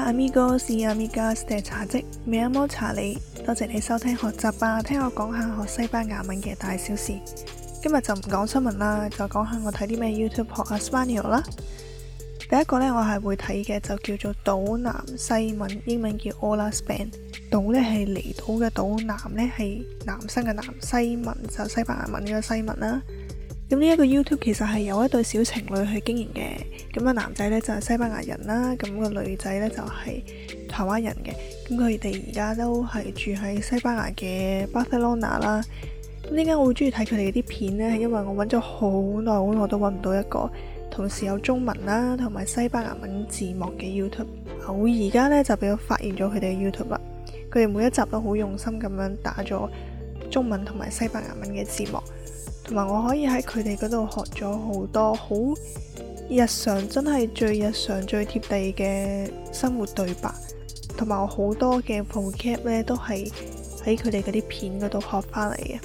amigos y amigas嘅茶嘖，me llamo Charlie，多謝你收聽學習吧，聽我講下學西班牙文嘅大小事。今日就唔講新聞啦，就講下我睇啲咩 YouTube 學下 Spanish 啦。第一個呢，我係會睇嘅就叫做島南西文，英文叫 Hola Span。島呢係離島嘅島，南呢係男生嘅男，西文就西班牙文嘅西文啦。咁呢一個 YouTube 其實係有一對小情侶去經營嘅，咁個男仔呢就係西班牙人啦，咁個女仔呢就係台灣人嘅，咁佢哋而家都係住喺西班牙嘅巴塞羅那啦。咁點解我會中意睇佢哋啲片呢？係因為我揾咗好耐都揾唔到一個同時有中文啦同埋西班牙文字幕嘅 YouTube。我而家呢就俾我發現咗佢哋嘅 YouTube 啦，佢哋每一集都好用心咁樣打咗中文同埋西班牙文嘅字幕。同埋我可以喺佢哋嗰度學咗好多好日常，真係最日常最貼地嘅生活對白，同埋我好多嘅 vocab 咧都係喺佢哋嗰啲片嗰度學翻嚟嘅。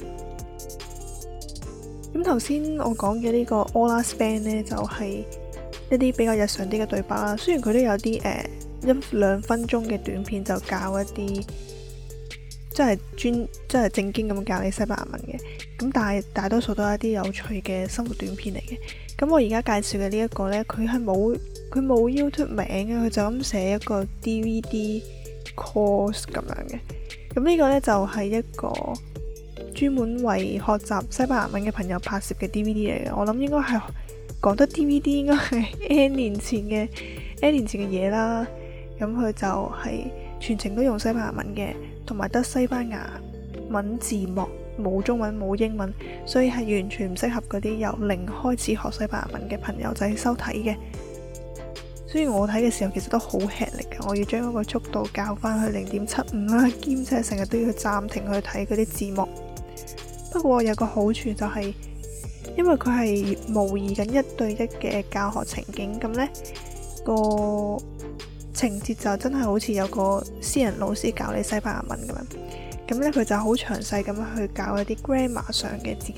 咁頭先我講嘅呢個 Hola Span 呢，就係一啲比較日常啲嘅對白啦。雖然佢都有啲1-2分鐘嘅短片，就教一啲真係正經咁教你西班牙文嘅，咁但係大多數都係一啲有趣嘅生活短片嚟嘅。咁我而家介紹嘅呢一個呢，佢冇 YouTube 名嘅，佢就咁寫一個 DVD course 咁樣嘅。咁呢個呢，就係一個專門為學習西班牙文嘅朋友拍攝嘅 DVD 嚟嘅。我諗應該係講得 DVD 應該係 N 年前嘅嘢啦。咁佢就係全程都用西班牙文嘅，同埋得西班牙文字幕，冇中文冇英文，所以係完全唔適合嗰啲由零開始學西班牙文嘅朋友仔收睇嘅。雖然我睇嘅時候其實都好吃力嘅，我要將嗰個速度校翻去0.75啦，兼且成日都要暫停去睇嗰啲字幕。不過有個好處就係，因為佢係模擬緊1對1嘅教學情景，咁呢個情節就真係好似有個私人老師教你西班牙文咁樣。咁呢，佢就好詳細咁樣去教一啲 grammar 上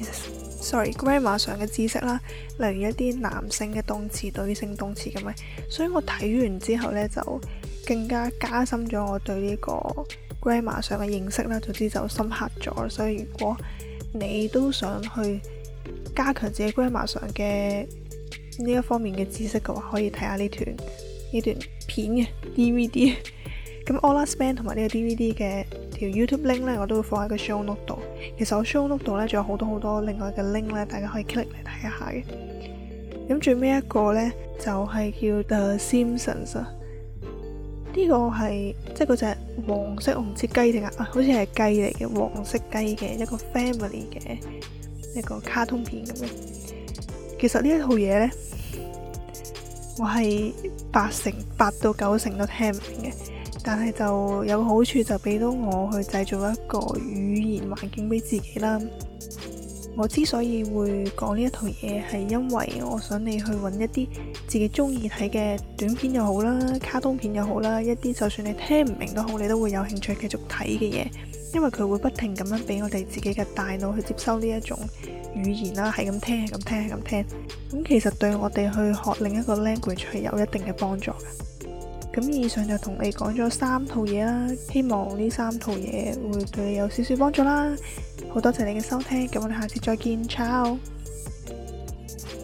嘅知識啦，例如一啲男性嘅動詞、女性動詞咁樣。所以我睇完之後呢，就更加加深咗我對呢個 grammar 上嘅認識啦，總之就深刻咗。所以如果你都想去加強自己 grammar 上嘅呢一方面嘅知識嘅話，可以睇下呢段片嘅 DVD。咁 Hola Span 同埋呢個 DVD 嘅條 YouTube link 呢，我都會放喺個 show note 度。其實我 show note 度呢，仲有好多另外嘅 link 呢，大家可以 click 嚟睇一下嘅。咁最尾一個呢，就係叫 The Simpsons 啊。呢個係即係嗰隻黃色，我唔知雞定好似係雞嚟嘅，黃色雞嘅一個 family 嘅一個卡通片咁樣。其實呢一套嘢呢，我係8到9成都聽唔明嘅，但係就有個好處，就俾到我去製造一個語言環境俾自己啦。我之所以會講呢一套嘢，係因為我想你去揾一啲自己中意睇嘅短片又好啦，卡通片又好啦，一啲就算你聽唔明都好，你都會有興趣繼續睇嘅嘢，因為佢會不停咁樣俾我哋自己嘅大腦去接收呢一種語言啦，係咁聽。咁其實對我哋去學另一個 language 係有一定嘅幫助嘅。咁以上就同你講咗3套嘢啦，希望呢3套嘢會對你有少少幫助啦。好多謝你嘅收聽，咁我哋下次再見，ciao。